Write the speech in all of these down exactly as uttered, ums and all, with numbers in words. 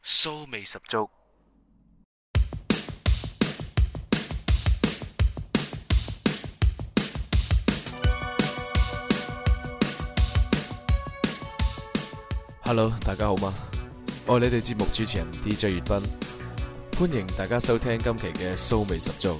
騷味十足。Hello， 大家好嗎？我係你哋節目主持人 D J 粵斌，歡迎大家收聽今期嘅騷味十足。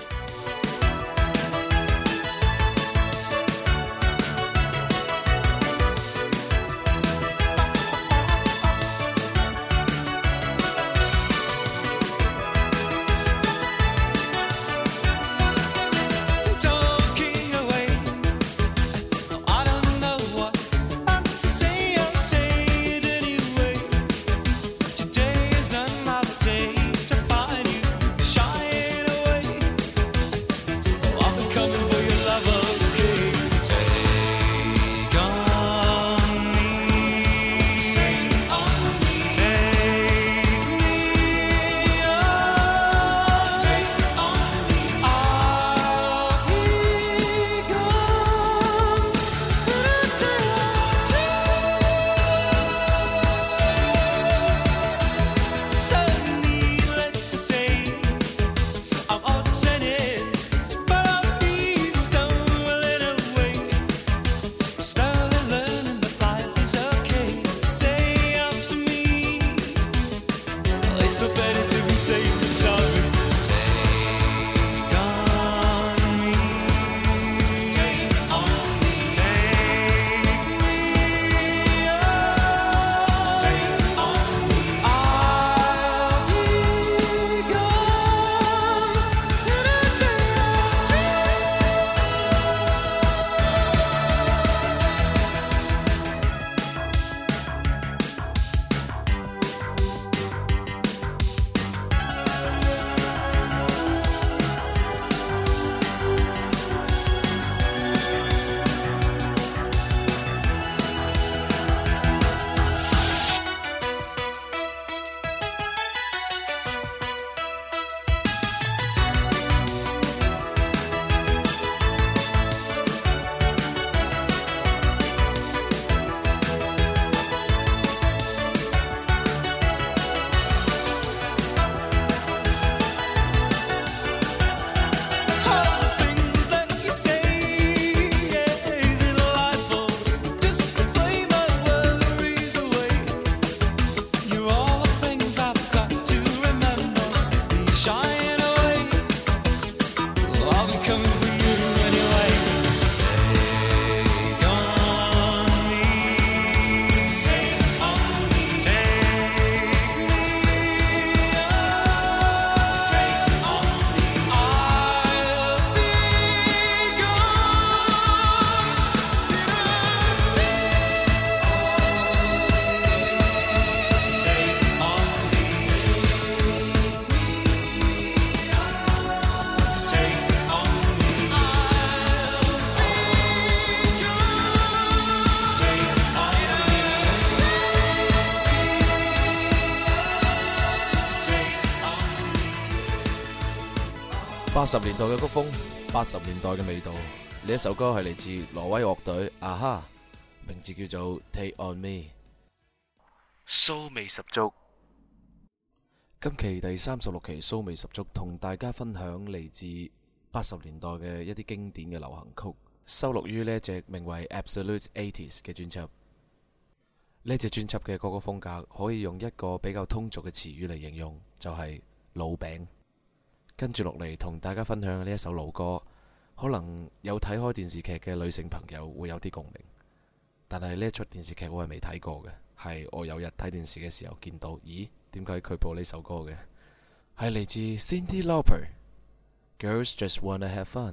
八十年代嘅曲風，八十年代嘅味道。呢一首歌係嚟自挪威樂隊啊哈，名字叫做 Take On Me， 騷味十足。今期第三十六期騷味十足，同大家分享嚟自八十年代嘅一啲經典嘅流行曲，收錄於呢一隻名為 Absolute eighties 嘅專輯。呢隻專輯嘅歌曲風格可以用一個比較通俗嘅詞語嚟形容，就係老餅。跟住落嚟同大家分享嘅呢一首老歌，可能有睇開電視劇嘅女性朋友會有啲共鳴，但係呢一出電視劇我係未睇過嘅，係我有日睇電視嘅時候見到，咦？點解佢播呢首歌嘅？係嚟自 Cyndi Lauper， Girls Just Wanna Have Fun。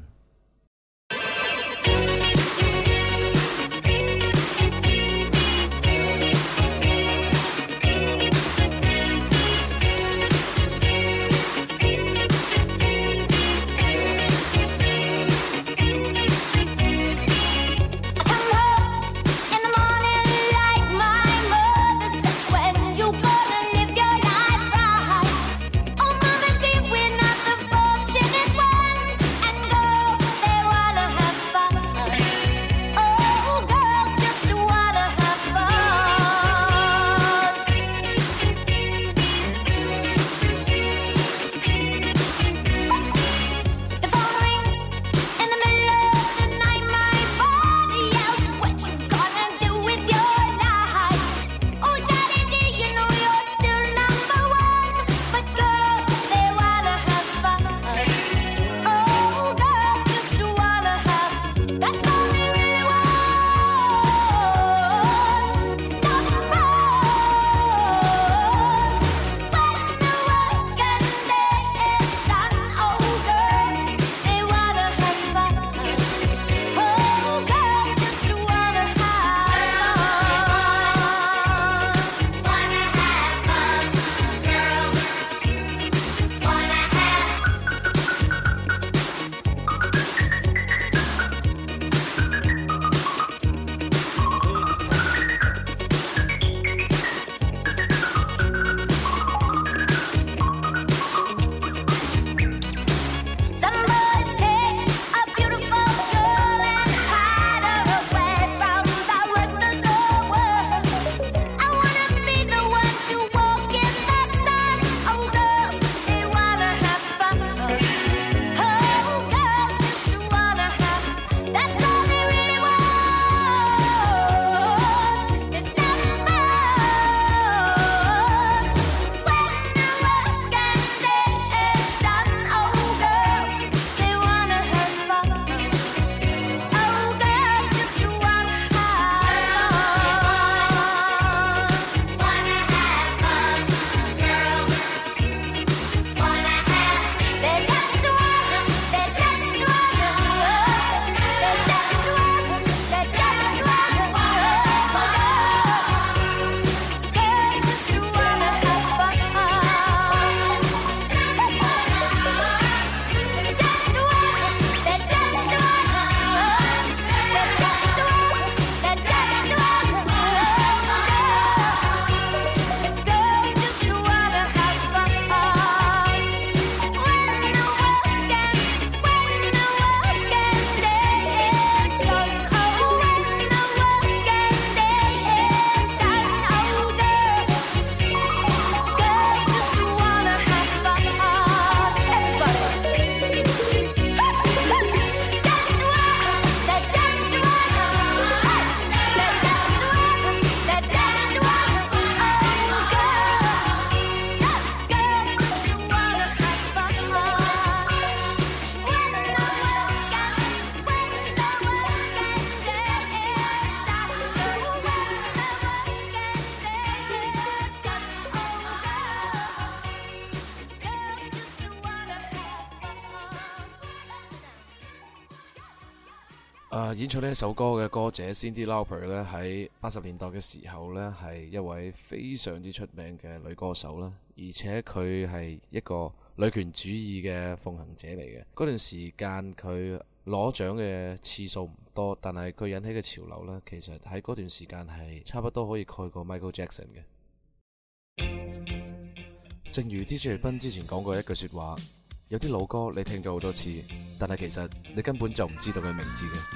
呃、演唱呢一首歌嘅歌者 Cyndi Lauper 咧，喺八十年代嘅時候呢，係一位非常之出名嘅女歌手啦，而且佢係一個女權主義嘅奉行者嚟嘅。嗰段時間佢攞獎嘅次數唔多，但係佢引起嘅潮流呢，其實喺嗰段時間係差不多可以蓋過 Michael Jackson 嘅。正如 D J 斌之前講過一句說話，有啲老歌你聽咗好多次，但係其實你根本就唔知道佢名字嘅。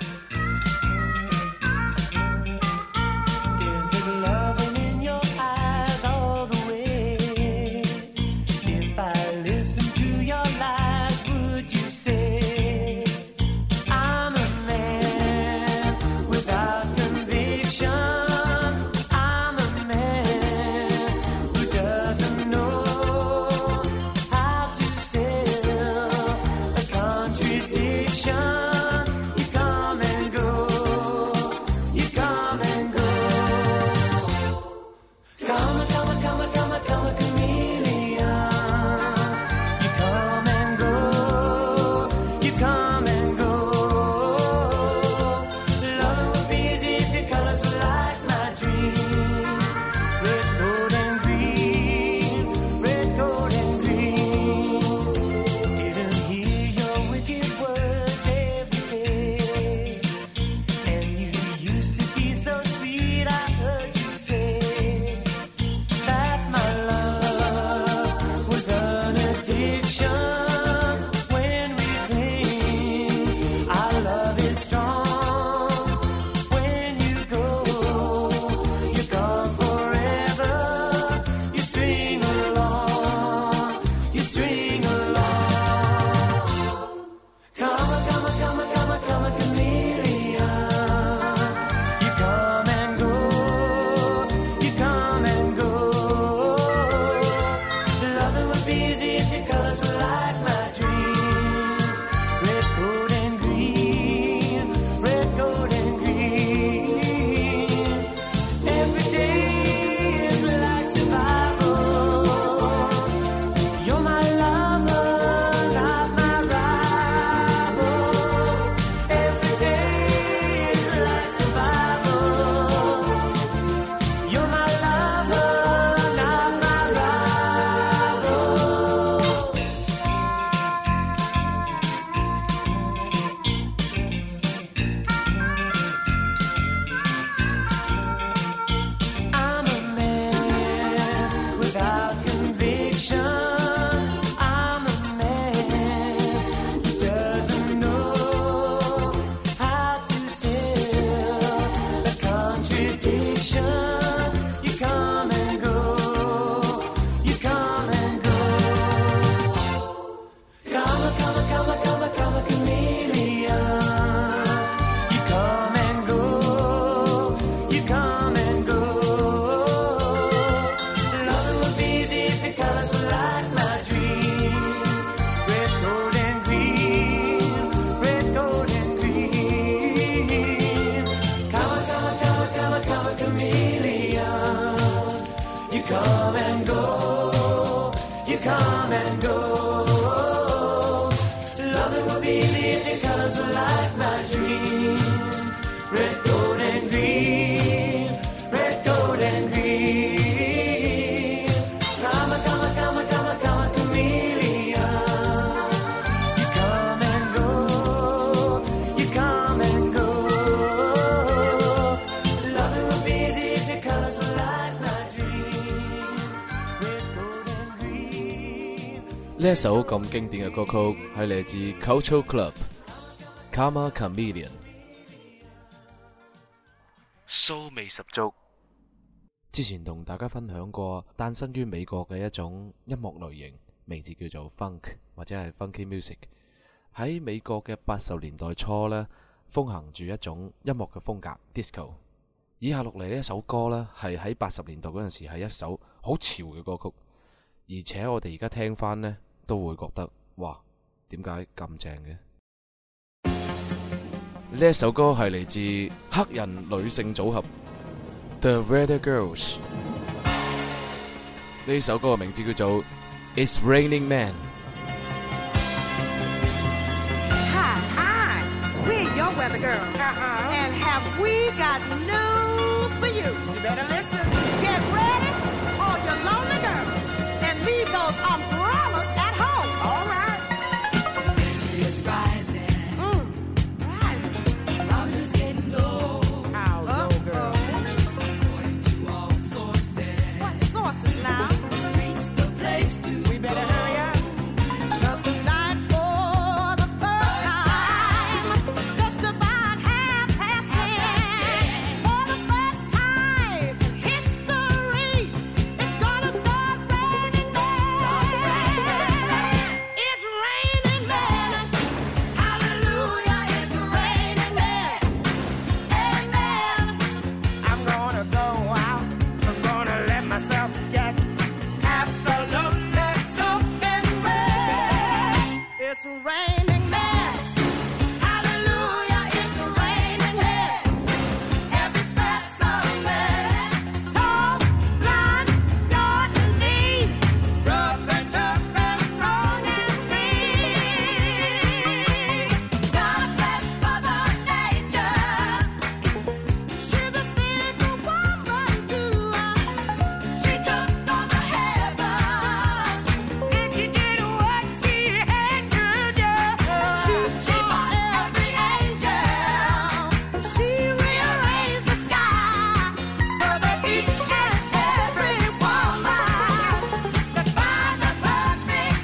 呢一首咁經典嘅歌曲係嚟自 Culture Club Karma Chameleon， 騷味十足。之前同大家分享過誕生於美國嘅一種音樂類型，名字叫做 Funk 或者係 Funky Music。喺美國嘅八十年代初呢，風行住一種音樂嘅風格 Disco。以下落嚟呢一首歌呢，係喺八十年代嗰陣時係一首好潮嘅歌曲，而且我哋而家聽翻呢，都會覺得哇，點解咁正嘅？呢一首歌係嚟自黑人女性組合 The Weather Girls。呢首歌嘅名字叫做 It's Raining Man。Hi, hi, we're your weather lonely girl. Uh-huh. And have we got news for you? You better listen. Get ready, all your lonely girls, and leave those umbrellas at home. All right. It's rising. Mm. Rising. Robbers getting low. How low, girl? According to all sources. What sources now? The streets, the place to We better go. hurry up. 'Cause tonight, for the first time, just about half past ten, for the first time in history, it's gonna start raining men. It's raining men. Hallelujah, it's raining men. Amen. I'm gonna go out. I'm gonna let myself get absolutely soaking wet. It's raining men. Hallelujah, it's raining men. Every specimen, tall, blonde, short and lean, rough and tough and strong and mean. God bless Mother Nature. She's a single woman too. She took over heaven, and she did what she had to do. She, she bought every angel. She rearranged the sky so that each and every woman could find the perfect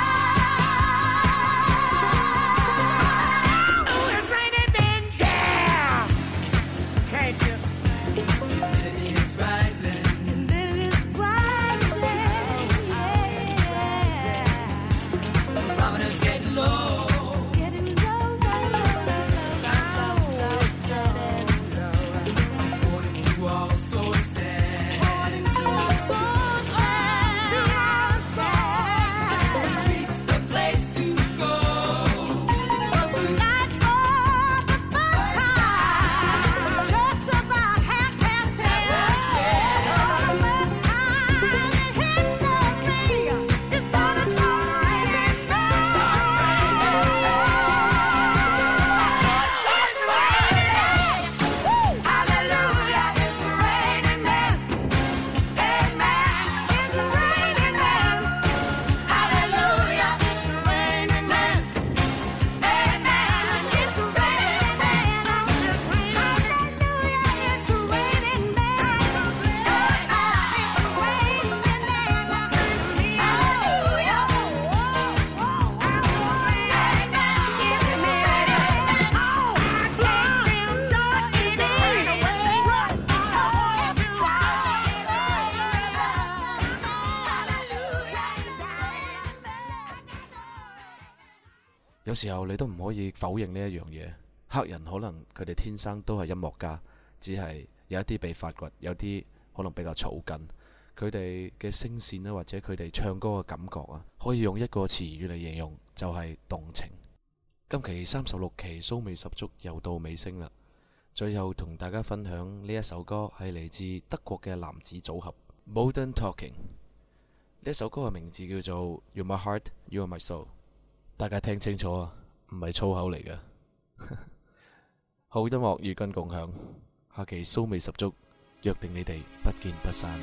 guy. Oh, it's raining men, yeah. Can't you? It's rising. And then it's rising, yeah. Robbers getting low. Getting low, low, low, low, low. According to all sources. The streets, the place to go. Tonight for the first time, just about half past ten, for the first time in history, it's gonna start raining men. It's raining. Woo! Hallelujah, it's raining men. Amen. It's raining men. Hallelujah, it's raining men. Amen. It's raining men. Hallelujah, it's raining men. Hallelujah. 有時候你都唔可以否認呢一樣嘢，黑人可能佢哋天生都係音樂家，只係有一啲被發掘，有啲可能比較草根。佢哋嘅聲線啦，或者佢哋唱歌嘅感覺啊，可以用一個詞語嚟形容，就係動情。今期三十六期騷味十足又到尾聲啦，最後同大家分享呢一首歌係嚟自德國嘅男子組合 Modern Talking。呢一首歌嘅名字叫做 You're My Heart, You're My Soul。大家聽清楚啊，唔係粗口嚟嘅。好音樂與君共享，下期騷味十足，約定你哋不見不散。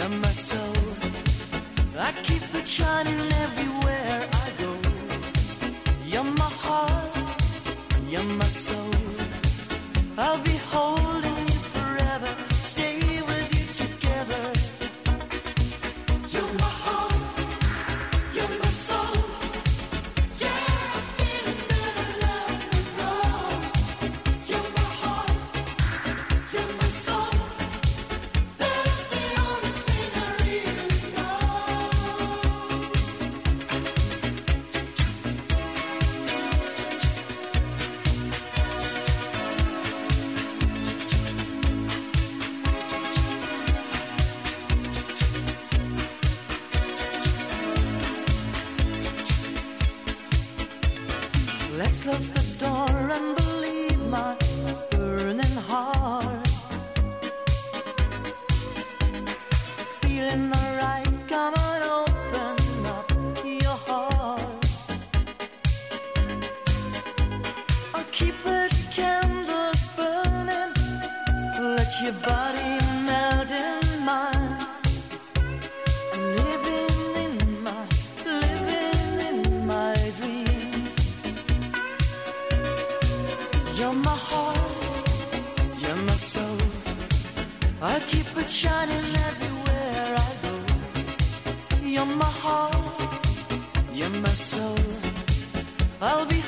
You're my soul. I keep it shining everywhere I go. You're my heart. You're my soul. I'll be holding you forever. Stay with you together. You're my heart. You're my soul. Yeah, I'm feeling that I love and roll. You're my heart. You're my soul. That's the only thing I really know. Let's close the door and believe my burning heart. Feeling alright, come on, open up your heart. I'll keep the candles burning. Let your body melt in mine. I'm living in my, living in my dreams. You're my heart, you're my soul. I'll keep it shining everywhere I go. You're my heart, you're my soul. I'll be